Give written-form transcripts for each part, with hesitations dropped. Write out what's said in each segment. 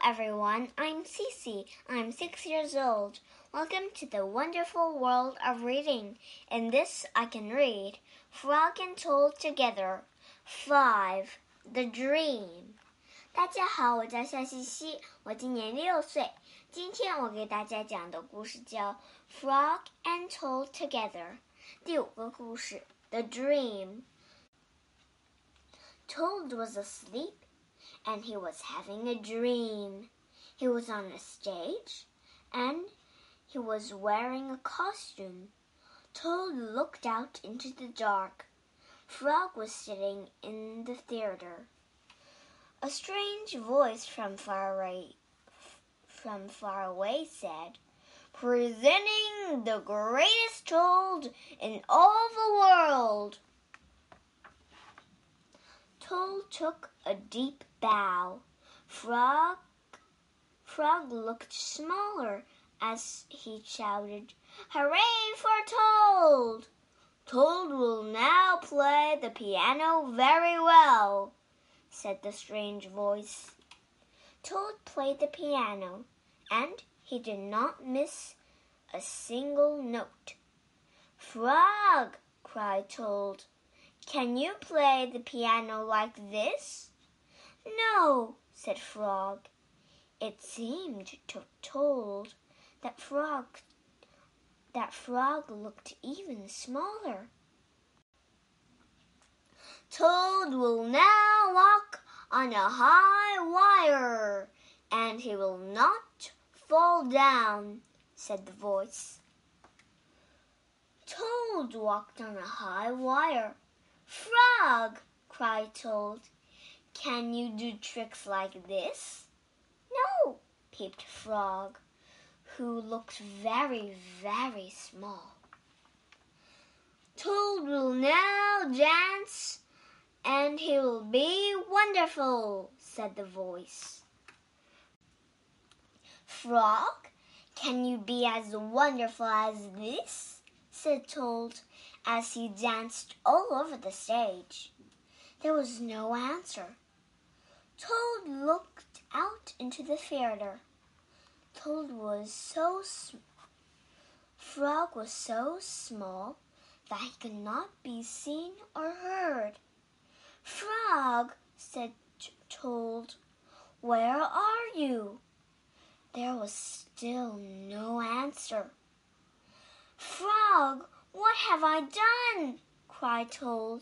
everyone, I'm Cece. I'm 6 years old. Welcome to the wonderful world of reading. In this I can read Frog and Toad Together. 5. The Dream. 大家好，我叫夏西西，我今年6岁。今天我给大家讲的故事叫 Frog and Toad Together。第5个故事 The Dream. Toad was asleep.And he was having a dream. He was on a stage, and he was wearing a costume. Toad looked out into the dark. Frog was sitting in the theater. A strange voice from far away said, "Presenting the greatest Toad in all the world."Toad took a deep bow. Frog looked smaller as he shouted, "Hooray for Toad! Toad will now play the piano very well," said the strange voice. Toad played the piano, and he did not miss a single note. "Frog!" cried Toad.Can you play the piano like this?" "No," said Frog. It seemed to Toad that Frog looked even smaller. "Toad will now walk on a high wire, and he will not fall down," said the voice. Toad walked on a high wire.Frog, cried Toad, "can you do tricks like this?" "No," peeped Frog, who looked very, very small. "Toad will now dance, and he will be wonderful," said the voice. "Frog, can you be as wonderful as this?" said Toad.As he danced all over the stage. There was no answer. Toad looked out into the theater. Frog was so small that he could not be seen or heard. "Frog," said Toad, "where are you?" There was still no answer. "Frog,What have I done?" cried Toad.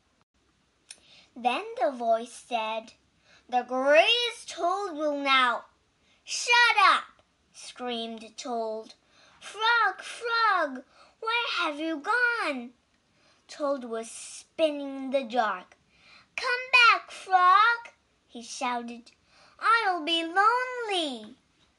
Then the voice said, "The greatest Toad will now—" "Shut up!" screamed Toad. "Frog, Frog, where have you gone?" Toad was spinning in the dark. "Come back, Frog!" he shouted. "I'll be lonely."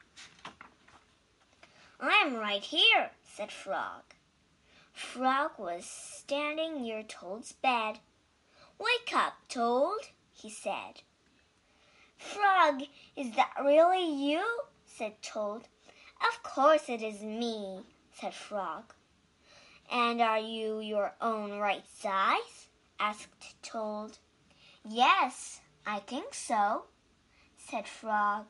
"I'm right here," said Frog.Frog was standing near Toad's bed. "Wake up, Toad," he said. "Frog, is that really you?" said Toad. "Of course it is me," said Frog. "And are you your own right size?" asked Toad. "Yes, I think so," said Frog.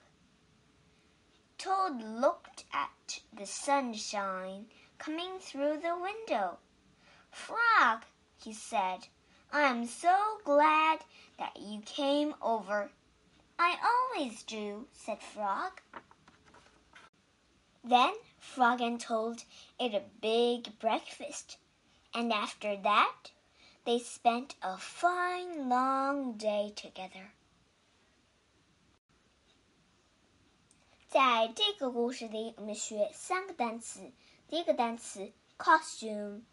Toad looked at the sunshine coming through the window. "Frog," he said, "I am so glad that you came over." "I always do," said Frog. Then Frog and Toad ate a big breakfast, and after that they spent a fine long day together. 在这个故事里，我们学3个单词。第一个单词 costume,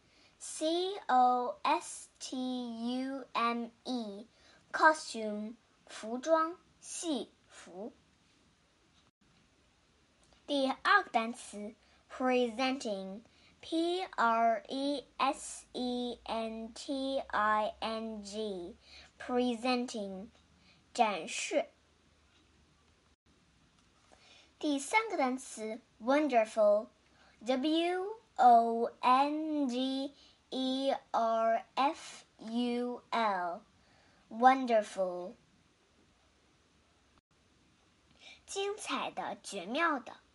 C-O-S-T-U-M-E, costume, 服装、戏服。第二个单词 presenting, P-R-E-S-E-N-T-I-N-G, presenting, 展示。第三个单词 wonderful, W-O-N-D-E-R-F-U-L, wonderful. 精彩的、绝妙的。